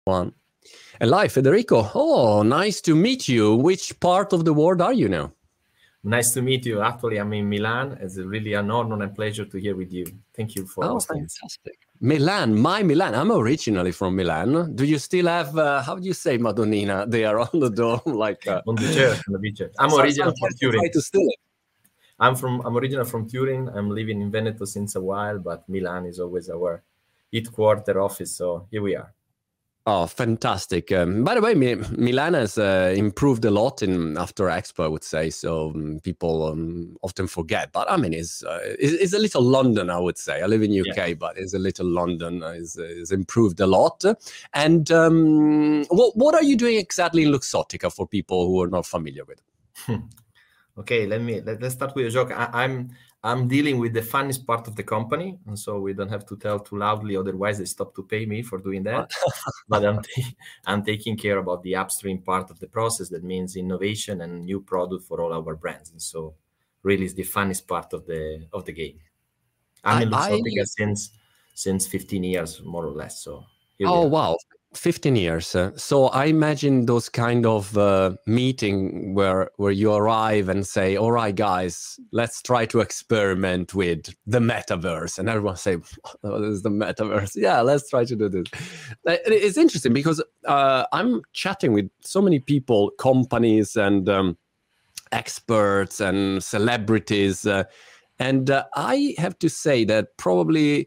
One. And live, Federico. Oh, nice to meet you. Which part of the world are you now? Nice to meet you. Actually, I'm in Milan. It's really an honor and pleasure to hear with you. Thank you for hosting. Fantastic. Milan, my Milan. I'm originally from Milan. Do you still have, how do you say Madonnina there on the dome? Like on the church, on the beach. I'm original from Turin. I'm original from Turin. I'm living in Veneto since a while, but Milan is always our headquarter office. So here we are. Oh, fantastic. By the way, Milan has improved a lot after Expo, I would say. So people often forget. But I mean, it's a little London, I would say. I live in UK, but it's a little London. It's improved a lot. And what are you doing exactly in Luxottica for people who are not familiar with it? Okay, let's start with a joke. I'm dealing with the funniest part of the company, and so we don't have to tell too loudly, otherwise they stop to pay me for doing that. But I'm taking care about the upstream part of the process. That means innovation and new product for all our brands. And so, really, it's the funniest part of the game. I'm in Luxottica since 15 years, more or less. So wow. 15 years. So I imagine those kind of meeting where you arrive and say, all right, guys, let's try to experiment with the metaverse. And everyone say, oh, this is the metaverse. Yeah, let's try to do this. It's interesting because I'm chatting with so many people, companies and experts and celebrities. And I have to say that probably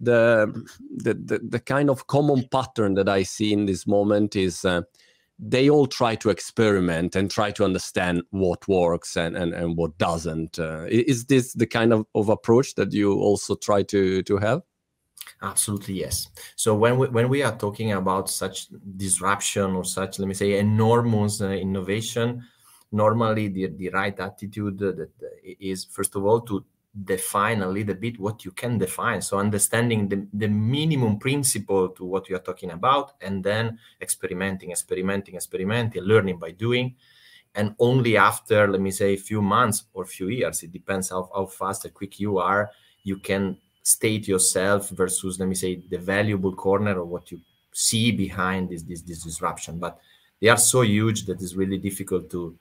the kind of common pattern that I see in this moment is they all try to experiment and try to understand what works and what doesn't. Is this the kind of approach that you also try to have? Absolutely, yes. So when we are talking about such disruption or such, let me say, enormous innovation, normally the right attitude is, first of all, to define a little bit what you can define. So understanding the minimum principle to what you are talking about, and then experimenting, learning by doing. And only after, let me say, a few months or few years, it depends how fast or quick you are, you can state yourself versus, let me say, the valuable corner of what you see behind this disruption. But they are so huge that it's really difficult to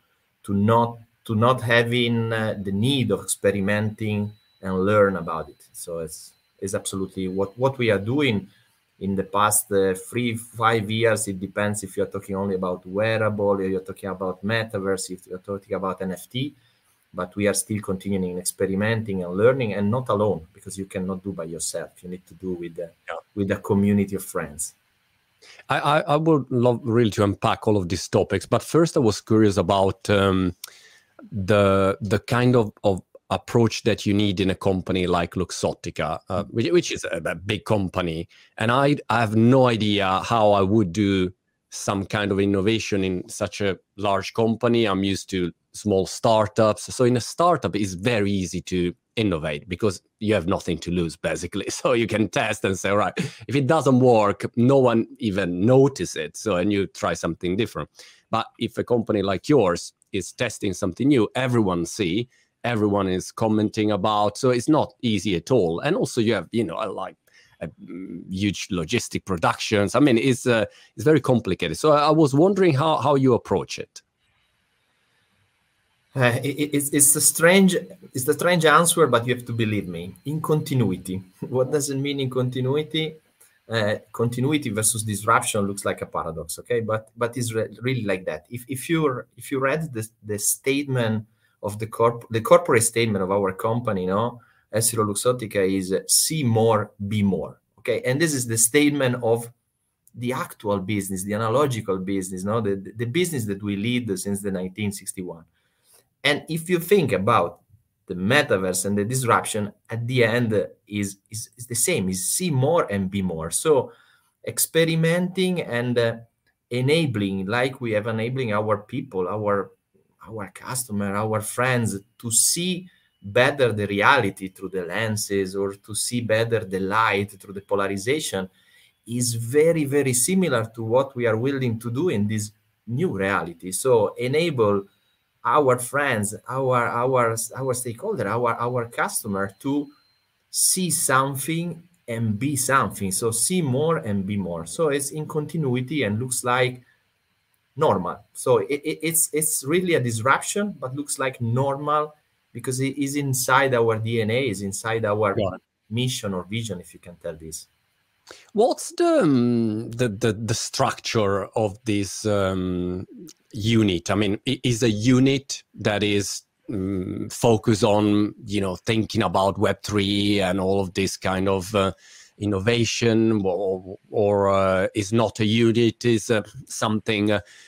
not having the need of experimenting and learn about it. So it's absolutely what we are doing in the past 3-5 years. It depends if you're talking only about wearable, or you're talking about metaverse, if you're talking about NFT, but we are still continuing experimenting and learning, and not alone, because you cannot do by yourself. You need to do with a community of friends. I would love really to unpack all of these topics, but first I was curious about the kind of approach that you need in a company like Luxottica, which is a big company. And I have no idea how I would do some kind of innovation in such a large company. I'm used to small startups. So in a startup, it's very easy to innovate because you have nothing to lose, basically. So you can test and say, all right, if it doesn't work, no one even notices it. So, and you try something different. But if a company like yours is testing something new, everyone is commenting about. So it's not easy at all. And also you have, like huge logistic productions. I mean, it's very complicated. So I was wondering how you approach it. It's a strange answer, but you have to believe me. In continuity. What does it mean in continuity? Continuity versus disruption looks like a paradox, okay? But it's really like that. If you read the statement of the corporate statement of our company, EssilorLuxottica is see more, be more, okay? And this is the statement of the actual business, the analogical business, the business that we lead since the 1961. And if you think about the metaverse and the disruption, at the end is the same, is see more and be more. So experimenting and enabling, like we have enabling our people, our customer, our friends, to see better the reality through the lenses, or to see better the light through the polarization, is very, very similar to what we are willing to do in this new reality. So enable our friends, our stakeholder, our customer to see something and be something. So see more and be more. So it's in continuity and looks like normal. So it's really a disruption, but looks like normal because it is inside our DNA, is inside our mission or vision, if you can tell this. What's the structure of this unit? I mean, is a unit that is focused on, you know, thinking about Web3 and all of this kind of innovation, or is not a unit? Is something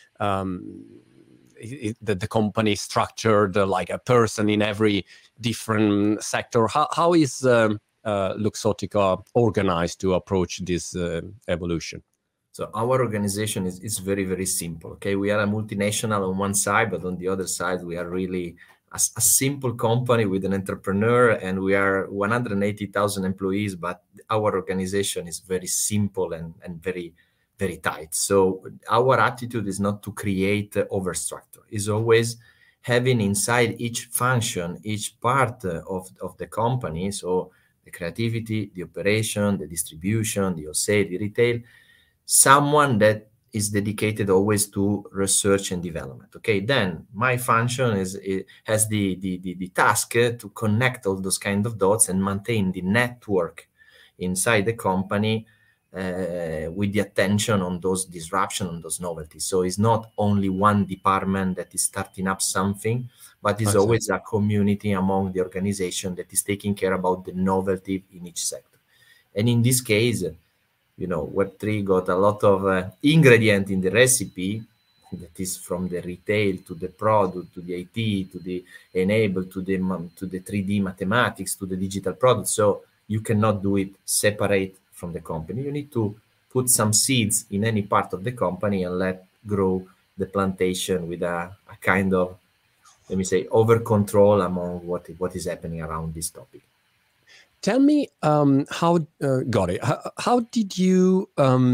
the company structured like a person in every different sector? How is Luxottica organized to approach this evolution? So our organization is very, very simple. Okay, we are a multinational on one side, but on the other side, we are really a simple company with an entrepreneur, and we are 180,000 employees, but our organization is very simple and very, very tight. So our attitude is not to create overstructure. It's always having inside each function, each part of the company, so the creativity, the operation, the distribution, the wholesale, the retail, someone that is dedicated always to research and development. Okay, then my function has the task to connect all those kind of dots and maintain the network inside the company with the attention on those disruption, on those novelties. So it's not only one department that is starting up something, but it's always a community among the organization that is taking care about the novelty in each sector. And in this case, you know, Web3 got a lot of ingredient in the recipe that is from the retail to the product, to the IT, to the enable, to the 3D mathematics, to the digital product. So you cannot do it separate from the company. You need to put some seeds in any part of the company and let grow the plantation with a kind of, let me say, over control among what is happening around this topic. Tell me how did you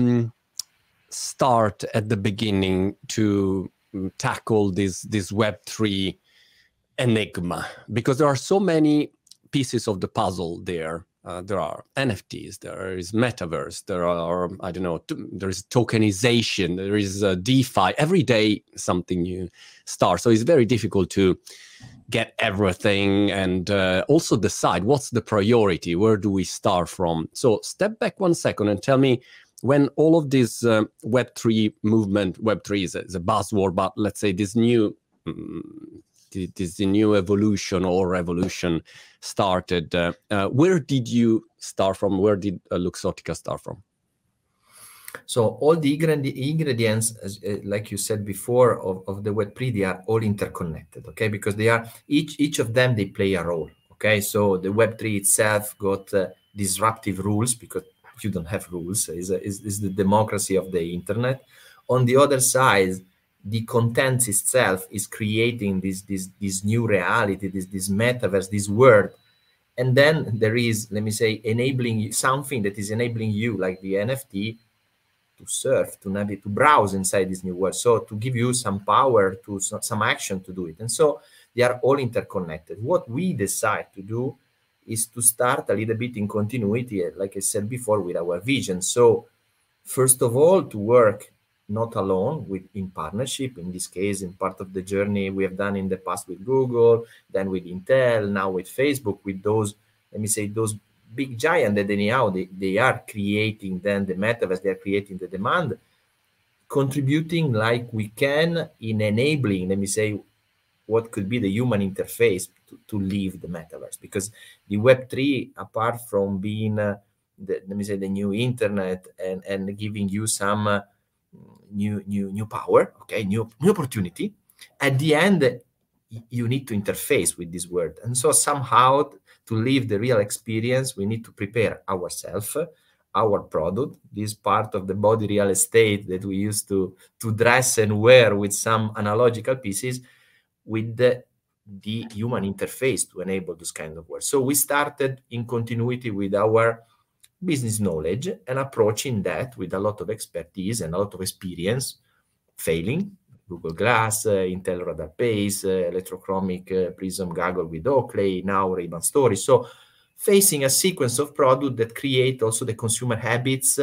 start at the beginning to tackle this Web3 enigma? Because there are so many pieces of the puzzle there. There are NFTs, there is metaverse, there are, I don't know, there is tokenization, there is DeFi. Every day something new starts. So it's very difficult to get everything and also decide what's the priority, where do we start from. So step back 1 second and tell me, when all of this Web3 movement, Web3 is a buzzword, but let's say this new evolution or revolution started, where did you start from? Where did Luxottica start from? So all the ingredients, like you said before, of the Web3, they are all interconnected, okay? Because they are, each of them, they play a role, okay? So the Web3 itself got disruptive rules because you don't have rules. It's the democracy of the internet. On the other side, the content itself is creating this new reality, this metaverse, this world. And then there is, let me say, enabling something that is enabling you, like the NFT, to surf, to navigate, to browse inside this new world. So to give you some power, to some action to do it. And so they are all interconnected. What we decide to do is to start a little bit in continuity, like I said before, with our vision. So first of all, to work not alone, in partnership. In this case, in part of the journey we have done in the past with Google, then with Intel, now with Facebook, with those, let me say, those big giant that anyhow they are creating then the metaverse, they are creating the demand, contributing like we can in enabling, let me say, what could be the human interface to live the metaverse. Because the Web3, apart from being let me say, the new internet and giving you some new power, okay, new opportunity, at the end you need to interface with this world. And so somehow, to live the real experience, we need to prepare ourselves, our product, this part of the body real estate that we used to dress and wear with some analogical pieces, with the human interface to enable this kind of work. So we started in continuity with our business knowledge and approaching that with a lot of expertise and a lot of experience, failing, Google Glass, Intel Radar Pace, electrochromic prism goggle with Oakley, now Ray-Ban Stories. So facing a sequence of products that create also the consumer habits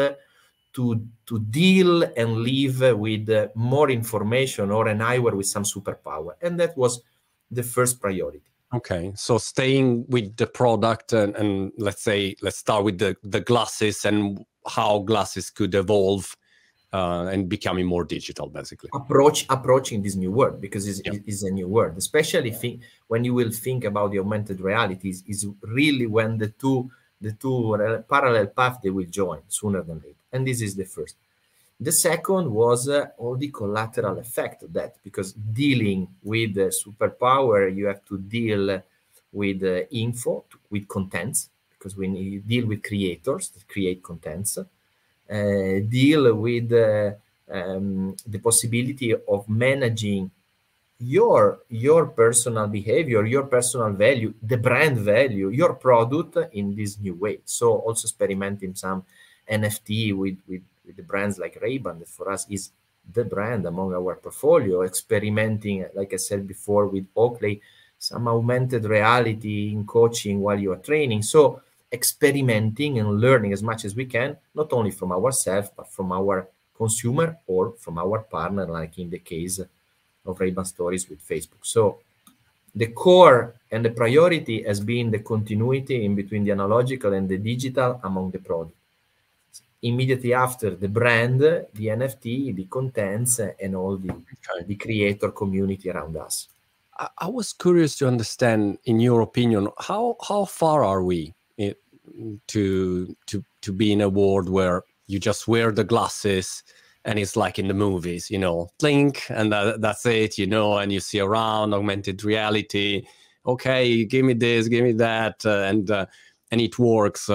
to deal and live with more information or an eyewear with some superpower. And that was the first priority. Okay, so staying with the product and let's start with the glasses and how glasses could evolve and becoming more digital, basically. Approaching this new world, because it's a new world, especially when you will think about the augmented realities, is really when the two parallel paths, they will join sooner than later. And this is the first. The second was all the collateral effect of that, because dealing with the superpower, you have to deal with info, with contents, because when you deal with creators that create contents, deal with the possibility of managing your personal behavior, your personal value, the brand value, your product in this new way. So also experimenting some NFT with the brands like Ray-Ban, that for us is the brand among our portfolio, experimenting, like I said before, with Oakley, some augmented reality in coaching while you are training. So experimenting and learning as much as we can, not only from ourselves, but from our consumer or from our partner, like in the case of Ray-Ban Stories with Facebook. So the core and the priority has been the continuity in between the analogical and the digital among the product. Immediately after, the brand, the NFT, the contents, and all the creator community around us. I was curious to understand, in your opinion, how far are we to be in a world where you just wear the glasses and it's like in the movies, blink and that's it, and you see around, augmented reality. Okay, give me this, give me that, and it works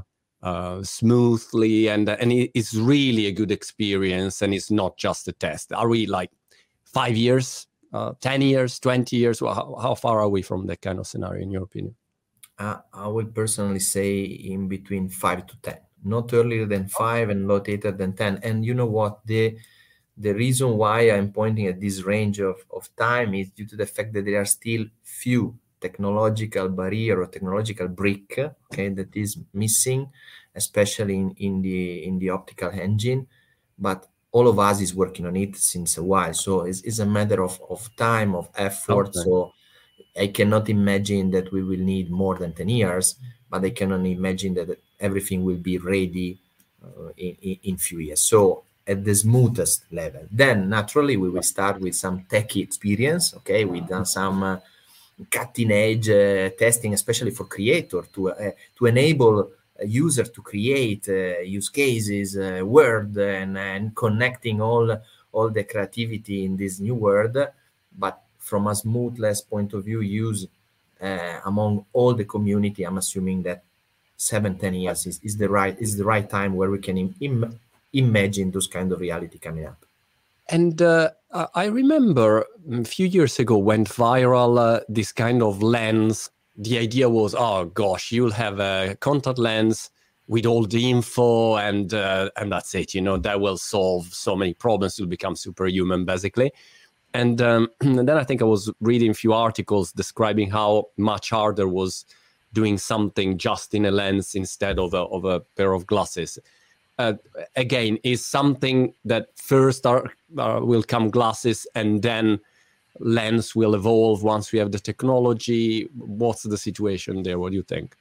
smoothly, and it's really a good experience, and it's not just a test. Are we like 5 years, 10 years, 20 years? How far are we from that kind of scenario, in your opinion? I would personally say in between 5 to 10, not earlier than 5 and not later than 10. And you know what? The reason why I'm pointing at this range of time is due to the fact that there are still few technological barrier or technological brick, okay, that is missing, especially in the optical engine. But all of us is working on it since a while. So it's a matter of time, of effort. Okay. So I cannot imagine that we will need more than 10 years, but I cannot imagine that everything will be ready in few years. So at the smoothest level. Then naturally we will start with some techie experience. Okay, we've done some cutting edge testing, especially for creator, to enable a user to create use cases, word, and connecting all the creativity in this new world. But from a smoothness point of view, use among all the community, I'm assuming that 7-10 years is the right time where we can imagine those kind of reality coming up. And I remember a few years ago went viral this kind of lens. The idea was, oh gosh, you'll have a contact lens with all the info, and that's it. That will solve so many problems. You'll become superhuman, basically. And then I think I was reading a few articles describing how much harder was doing something just in a lens instead of a pair of glasses. Again, is something that first will come glasses and then lens will evolve once we have the technology? What's the situation there? What do you think?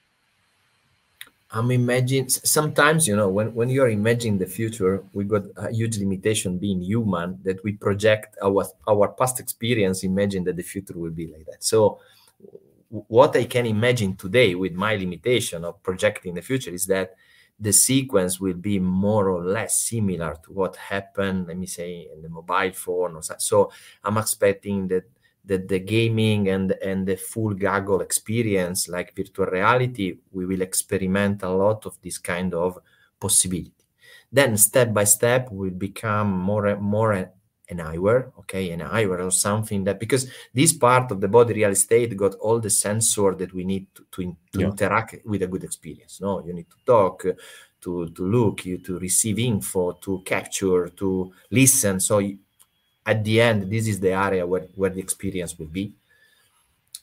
I'm imagining sometimes, when you're imagining the future, we got a huge limitation being human, that we project our past experience, imagine that the future will be like that. So what I can imagine today with my limitation of projecting the future is that the sequence will be more or less similar to what happened, let me say, in the mobile phone or so. So I'm expecting that the gaming and the full goggle experience, like virtual reality, we will experiment a lot of this kind of possibility. Then step by step will become more an eyewear, okay, an eyewear or something that, because this part of the body real estate got all the sensor that we need to interact with a good experience. No, you need to talk, to look, to receive info, to capture, to listen. So at the end, this is the area where the experience will be.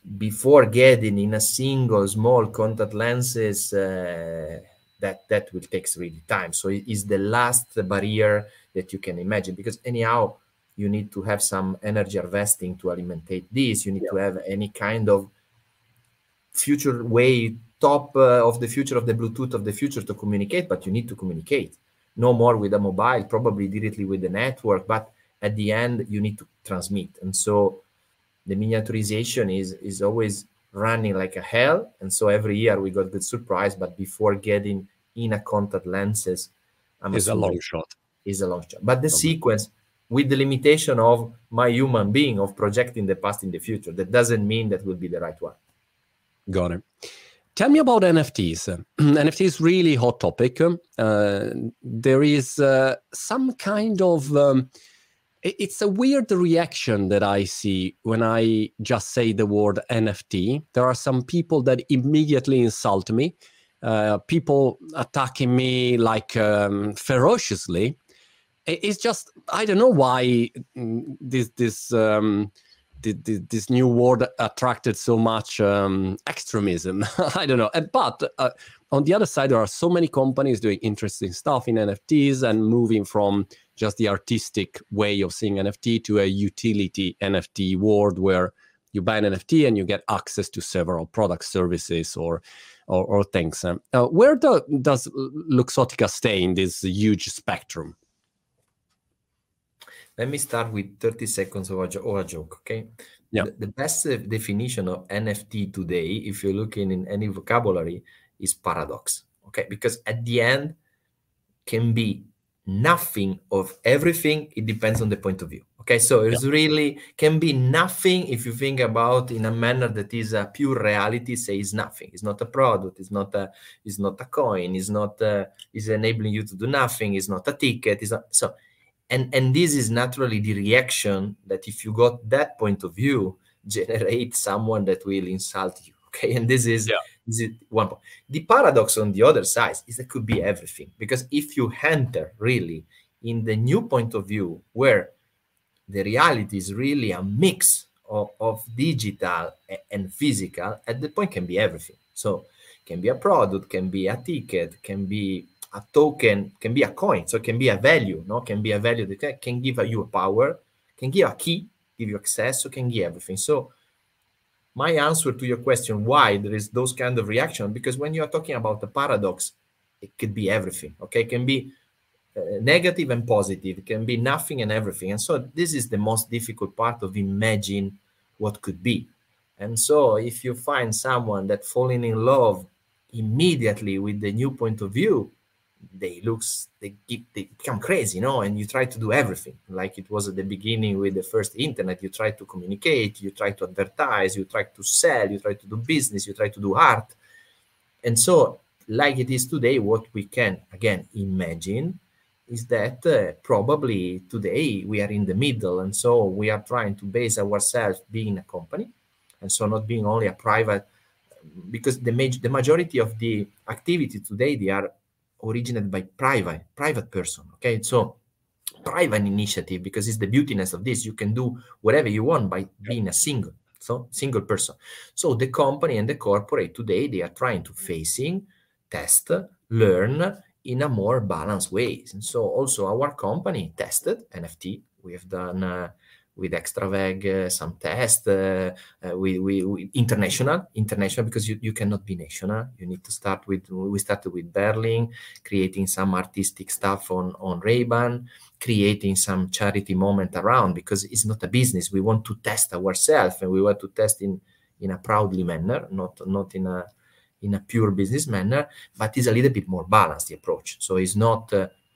before getting in a single small contact lenses, that will take really time. So it is the last barrier that you can imagine, because anyhow, you need to have some energy harvesting to alimentate this. You need to have any kind of future way, top of the future, of the Bluetooth of the future to communicate, but you need to communicate. No more with a mobile, probably directly with the network, but at the end, you need to transmit. And so the miniaturization is always running like a hell. And so every year we got good surprise, but before getting in a contact lenses, is a long shot. Is a long shot. But the sequence, with the limitation of my human being of projecting the past in the future, that doesn't mean that will be the right one. Got it. Tell me about NFTs. NFTs really hot topic. There is some kind of it's a weird reaction that I see when I just say the word NFT. There are some people that immediately insult me. People attacking me like ferociously. It's just, I don't know why this new word attracted so much extremism. I don't know. But on the other side, there are so many companies doing interesting stuff in NFTs and moving from just the artistic way of seeing NFT to a utility NFT world where you buy an NFT and you get access to several product services or things. Where does Luxottica stay in this huge spectrum? Let me start with 30 seconds of a joke, okay? Yeah. The best definition of NFT today, if you're looking in any vocabulary, is paradox, okay? Because at the end, can be nothing of everything. It depends on the point of view, okay? So it's really can be nothing if you think about in a manner that is a pure reality. Say it's nothing. It's not a product. It's not a coin. It's not. It's enabling you to do nothing. It's not a ticket. It's not so. And this is naturally the reaction that if you got that point of view, generate someone that will insult you. Okay, and this is one point. The paradox on the other side is that could be everything, because if you enter really in the new point of view where the reality is really a mix of digital and physical, at the point can be everything. So can be a product, can be a ticket, can be a token, can be a coin, so it can be a value, no? Can be a value that can give you a power, can give a key, give you access, so can give everything. So my answer to your question, why there is those kind of reaction, because when you are talking about the paradox, it could be everything, okay? It can be negative and positive, it can be nothing and everything. And so this is the most difficult part of imagine what could be. And so if you find someone that falling in love immediately with the new point of view, they become crazy, and you try to do everything like it was at the beginning with the first internet. You try to communicate, you try to advertise, you try to sell, you try to do business, you try to do art. And so like it is today, what we can again imagine is that probably today we are in the middle, and so we are trying to base ourselves being a company, and so not being only a private, because the majority of the activity today, they are originated by private person, okay? So private initiative, because it's the beautiness of this, you can do whatever you want by being a single person. So the company and the corporate today, they are trying to facing, test, learn in a more balanced way. And so also our company tested NFT. We have done with Extraveg some tests, we international, because you cannot be national. You need to start with, we started with Berlin, creating some artistic stuff on Ray-Ban, creating some charity moment around, because it's not a business. We want to test ourselves, and we want to test in a proudly manner, not in a pure business manner, but it's a little bit more balanced, the approach. So it's not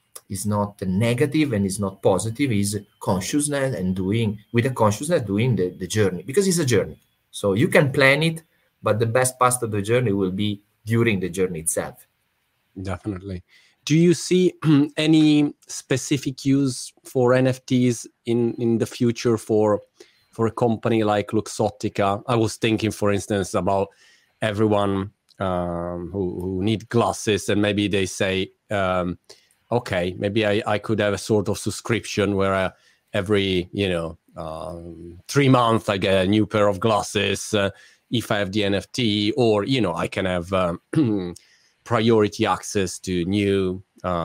negative and it's not positive. It's consciousness and doing the journey, because it's a journey. So you can plan it, but the best part of the journey will be during the journey itself. Definitely. Do you see any specific use for NFTs in the future for a company like Luxottica? I was thinking, for instance, about everyone who need glasses, and maybe they say, okay, maybe I could have a sort of subscription where every 3 months I get a new pair of glasses. if I have the NFT, or, you know, I can have priority access to new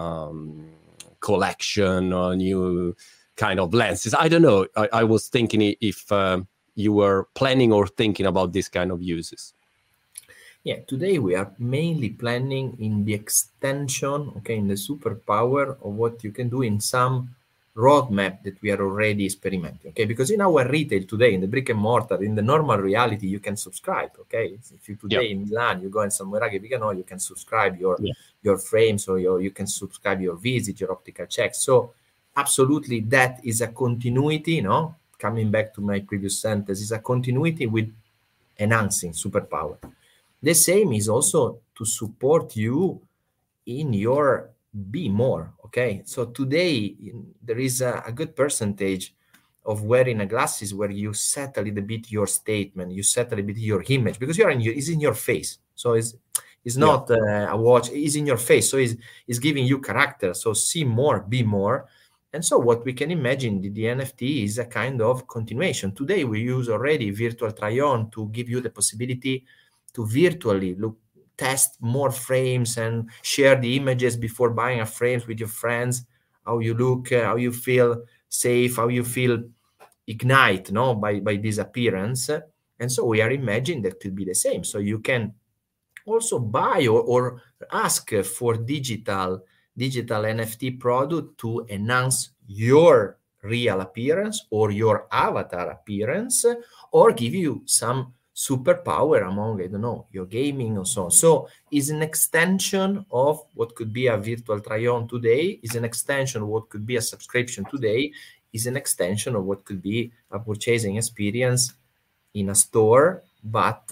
collection or new kind of lenses. I don't know. I was thinking if you were planning or thinking about this kind of uses. Yeah, today we are mainly planning in the extension, okay, in the superpower of what you can do in some roadmap that we are already experimenting, okay? Because in our retail today, in the brick and mortar, in the normal reality, you can subscribe, okay? If you today in Milan, you go in some Meraki Vigano, you can subscribe your frames, or you can subscribe your visit, your optical checks. So absolutely, that is a continuity, no? Coming back to my previous sentence, is a continuity with enhancing superpower. The same is also to support you in your be more, okay? So today there is a good percentage of wearing a glasses where you set a little bit your statement, you set a little bit your image, because it's in your face. So it's not a watch, it's in your face. So it's giving you character. So see more, be more. And so what we can imagine, the NFT is a kind of continuation. Today we use already virtual try-on to give you the possibility to virtually test more frames and share the images before buying a frame with your friends, how you look, how you feel safe, how you feel ignite, no, by this appearance. And so we are imagining that could be the same. So you can also buy or ask for digital NFT product to enhance your real appearance or your avatar appearance, or give you some superpower among, I don't know, your gaming or so on. So is an extension of what could be a virtual try-on today, is an extension of what could be a subscription today, is an extension of what could be a purchasing experience in a store, but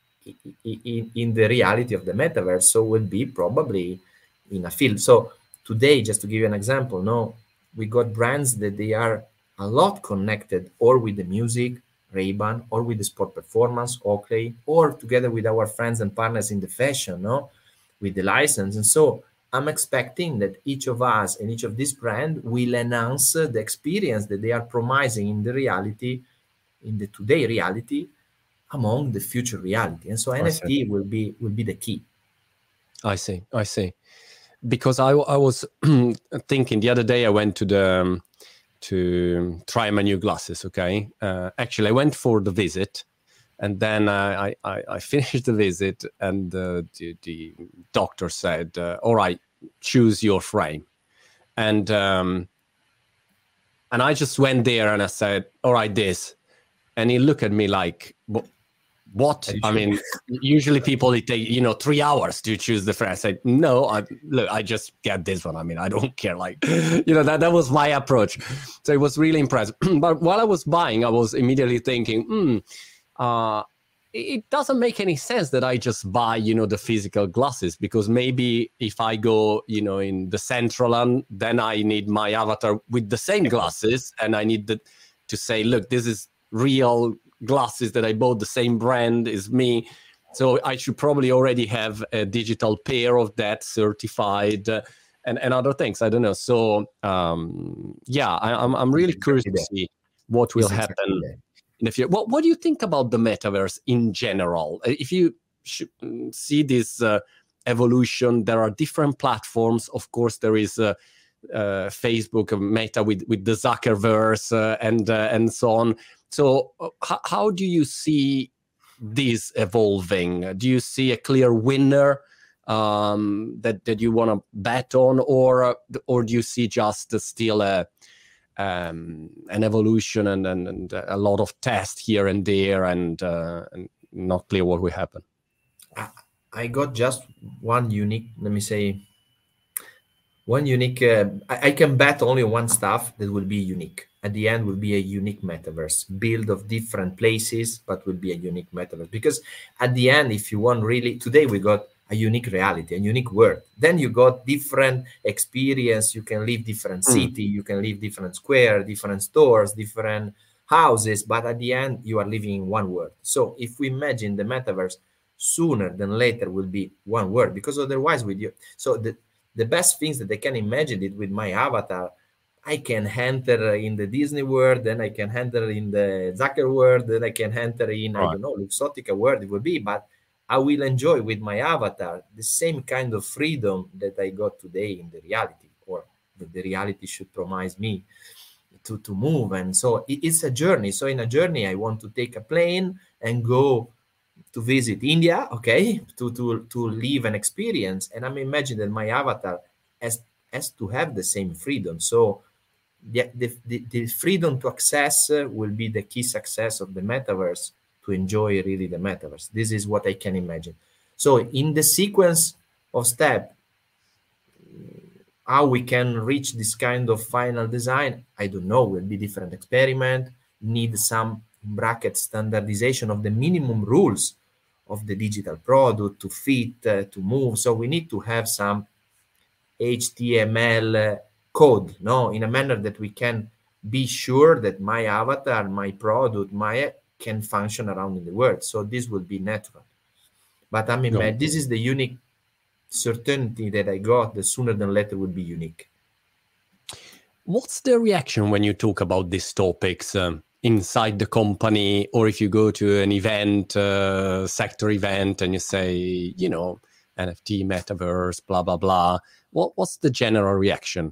in the reality of the metaverse. So will be probably in a field. So today, just to give you an example, no, we got brands that they are a lot connected, or with the music, Ray-Ban, or with the sport performance, Oakley, or together with our friends and partners in the fashion, no, with the license. And so I'm expecting that each of us and each of these brands will enhance the experience that they are promising in the reality, in the today reality, among the future reality. And so NFT will be the key. I see. Because I was thinking the other day, I went to try my new glasses. Okay, actually, I went for the visit, and then I finished the visit, and the doctor said, "All right, choose your frame," and I just went there and I said, "All right, this," and he looked at me like, what? I mean, usually people, it take 3 hours to choose the frame. I said, no, I just get this one. I mean, I don't care. Like, that was my approach. So it was really impressive. But while I was buying, I was immediately thinking, it doesn't make any sense that I just buy, the physical glasses, because maybe if I go, in the central one, then I need my avatar with the same glasses, and I need to say, look, this is real glasses that I bought, the same brand is me. So I should probably already have a digital pair of that certified and other things. I don't know. So I'm really curious to see what will happen in the future. What do you think about the metaverse in general? If you see this evolution, there are different platforms. Of course, there is Facebook, Meta with the Zuckerverse and so on. So how do you see this evolving? Do you see a clear winner that you want to bet on, or do you see just still an evolution and a lot of tests here and there and not clear what will happen? I got just one unique, I can bet only one stuff that will be unique. At the end will be a unique metaverse, build of different places, but will be a unique metaverse. Because at the end, if you want really, today we got a unique reality, a unique world. Then you got different experience. You can live different city, you can live different square, different stores, different houses, but at the end you are living in one world. So if we imagine the metaverse, sooner than later will be one world, because otherwise with you, so the best things that they can imagine it with my avatar, I can enter in the Disney world, then I can enter in the Zucker world, then I can enter in, I don't know, Luxottica world it will be, but I will enjoy with my avatar the same kind of freedom that I got today in the reality, or that the reality should promise me to move. And so it's a journey. So in a journey, I want to take a plane and go to visit India, okay, to live an experience. And I'm imagining that my avatar has to have the same freedom. So the freedom to access will be the key success of the metaverse, to enjoy really the metaverse. This is what I can imagine. So in the sequence of step, how we can reach this kind of final design, I don't know. Will be different experiment, need some bracket standardization of the minimum rules of the digital product to fit, to move. So we need to have some HTML code, no, in a manner that we can be sure that my avatar, my product, can function around in the world. So this will be natural. But I mean, this is the unique certainty that I got, the sooner than later will be unique. What's the reaction when you talk about these topics inside the company, or if you go to an event, sector event, and you say, you know, NFT, metaverse, blah, blah, blah. What's the general reaction?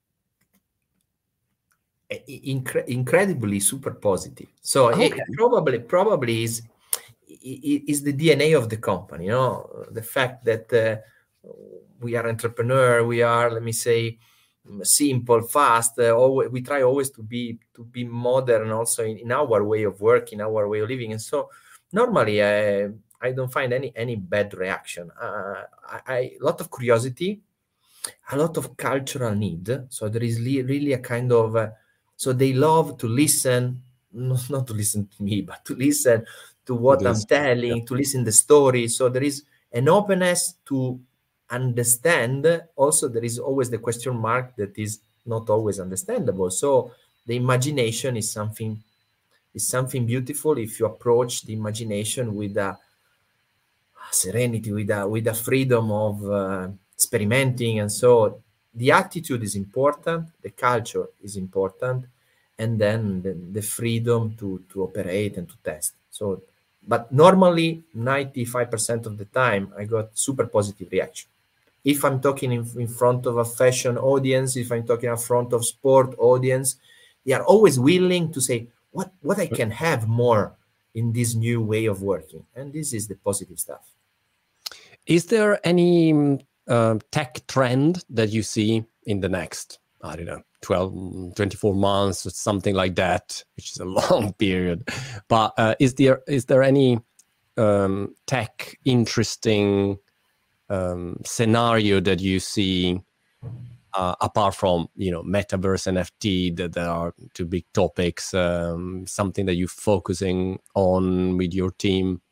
Incredibly super positive. So it probably is the DNA of the company, you know, the fact that we are entrepreneur, we are, let me say, simple, fast. We try always to be modern, also in our way of working, our way of living. And so normally I don't find any bad reaction. A lot of curiosity, a lot of cultural need. So there is really a kind of so they love to listen, not to listen to me, but to listen to what I'm telling, to listen the story. So there is an openness to understand. Also, there is always the question mark that is not always understandable. So the imagination is something beautiful if you approach the imagination with a serenity, with a freedom of experimenting. And so the attitude is important, the culture is important, and then the freedom to operate and to test. So, but normally 95% of the time I got super positive reaction. If I'm talking in front of a fashion audience, if I'm talking in front of sport audience, they are always willing to say what I can have more in this new way of working. And this is the positive stuff. Is there any tech trend that you see in the next, I don't know, 12, 24 months or something like that, which is a long period. But is there any tech interesting scenario that you see apart from, you know, metaverse, NFT, that are two big topics, something that you're focusing on with your team?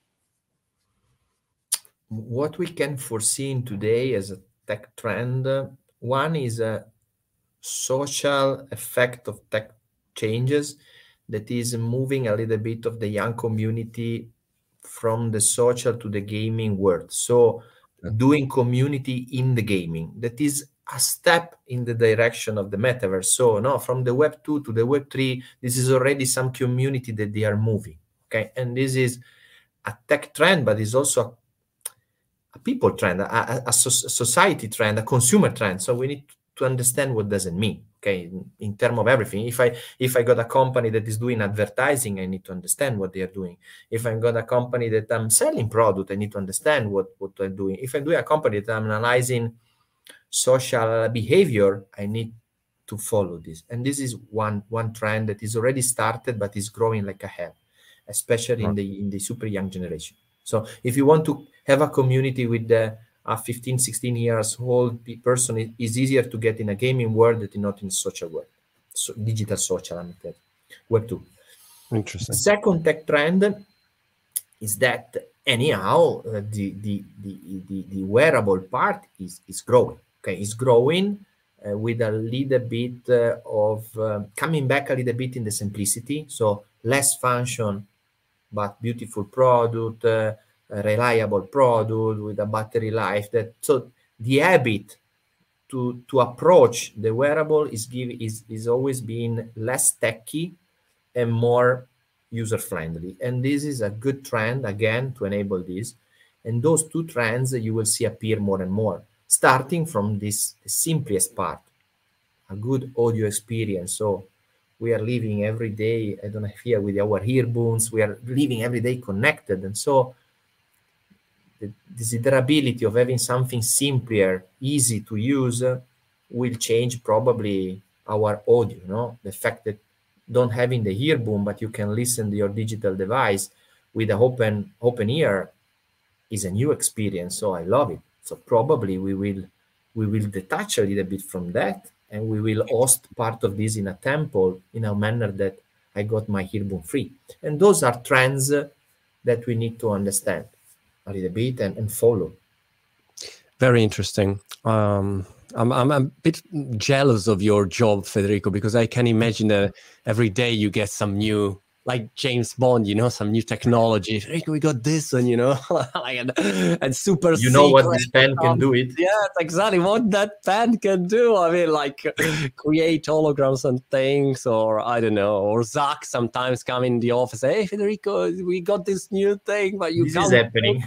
What we can foresee in today as a tech trend, one is a social effect of tech changes that is moving a little bit of the young community from the social to the gaming world. So doing community in the gaming, that is a step in the direction of the metaverse. So no, from the Web 2 to the Web 3, this is already some community that they are moving. Okay, and this is a tech trend, but it's also a people trend, a society trend, a consumer trend. So we need to understand what does it mean. Okay, in terms of everything. If I got a company that is doing advertising, I need to understand what they are doing. If I got a company that I'm selling product, I need to understand what I'm doing. If I'm doing a company that I'm analyzing social behavior, I need to follow this. And this is one trend that is already started, but is growing like a hell, especially in the super young generation. So if you want to have a community with a 15, 16 years old person, it is easier to get in a gaming world than not in social world. So digital social, I'm saying. Web 2. Interesting. The second tech trend is that anyhow, the wearable part is growing. Okay, it's growing with a little bit of coming back a little bit in the simplicity. So less function, but beautiful product, a reliable product with a battery life. So the habit to approach the wearable is always being less techy and more user friendly. And this is a good trend, again, to enable this. And those two trends you will see appear more and more, starting from this simplest part, a good audio experience. So we are living every day, I don't know, here with our earbuds, we are living every day connected. And so the desirability of having something simpler, easy to use, will change probably our audio, no? The fact that don't having the earbud, but you can listen to your digital device with an open ear is a new experience. So I love it. So probably we will detach a little bit from that, and we will host part of this in a temple in a manner that I got my earbud free. And those are trends that we need to understand a little bit and follow. Very interesting. I'm a bit jealous of your job, Federico, because I can imagine that every day you get some new, like James Bond, you know, some new technology. Federico, we got this one, you know, and super. You know what this pen can do? It. Yeah, that's exactly what that pen can do. I mean, like create holograms and things, or I don't know, or Zach sometimes come in the office, hey Federico, we got this new thing, but you this can't. Is happening.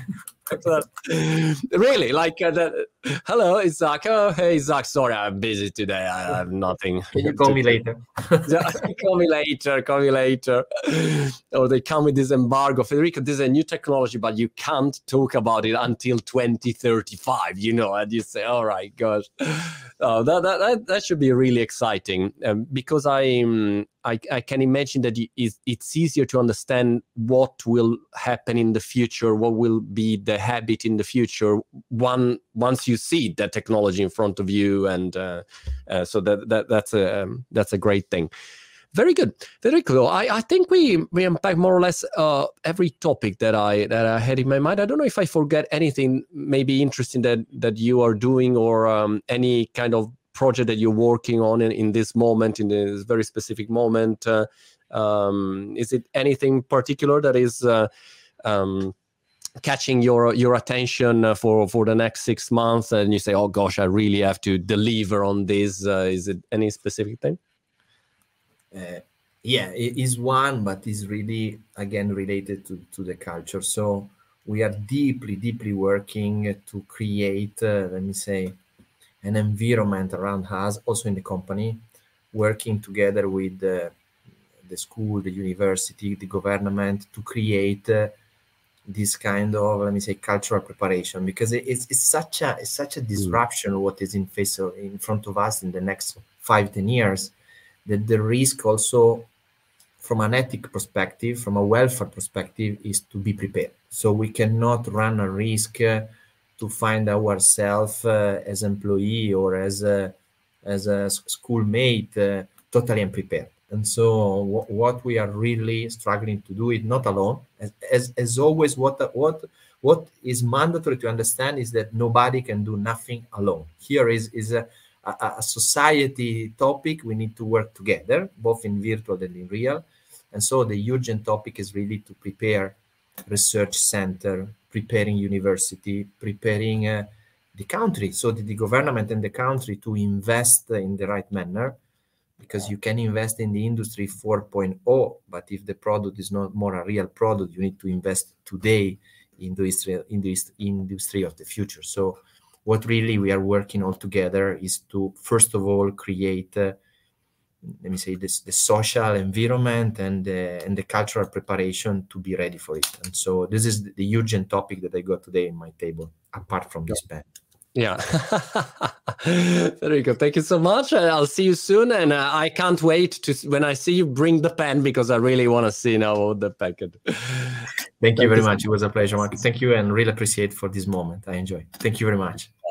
Really, like hello, it's Zach. Oh, hey Zach, sorry, I'm busy today. I have nothing. Can you call me later? Call me later. Or they come with this embargo. Federico, this is a new technology, but you can't talk about it until 2035, you know, and you say, all right, gosh. Oh, that should be really exciting, because I can imagine that it's easier to understand what will happen in the future, what will be the habit in the future once you see that technology in front of you, and so that's a great thing. Very good, very cool. I think we unpacked more or less every topic that I had in my mind. I don't know if I forget anything maybe interesting that you are doing, or any kind of project that you're working on in this moment, in this very specific moment. Is it anything particular that is catching your attention for the next 6 months, and you say, oh gosh, I really have to deliver on this? Is it any specific thing? Yeah, it is one, but it's really, again, related to the culture. So we are deeply working to create, let me say, an environment around us, also in the company, working together with the school, the university, the government, to create this kind of, let me say, cultural preparation, because it's such a disruption what is in front of us in the next 5-10 years, that the risk also from an ethic perspective, from a welfare perspective, is to be prepared. So we cannot run a risk to find ourselves as employee or as a schoolmate totally unprepared. And so what we are really struggling to do is not alone. As always, what is mandatory to understand is that nobody can do nothing alone. Here is a society topic. We need to work together, both in virtual and in real. And so the urgent topic is really to prepare research center, preparing university, preparing the country, so that the government and the country to invest in the right manner, because you can invest in the industry 4.0, but if the product is not more a real product, you need to invest today in the industry of the future. So what really we are working all together is to, first of all, create, let me say, the social environment and the cultural preparation to be ready for it. And so this is the urgent topic that I got today in my table, apart from this pen. Yeah. Very good. Thank you so much. I'll see you soon. And I can't wait to when I see you bring the pen, because I really want to see now what the pen can do. Thank you very much. It was a pleasure, Mark. Thank you, and really appreciate for this moment. I enjoy. Thank you very much.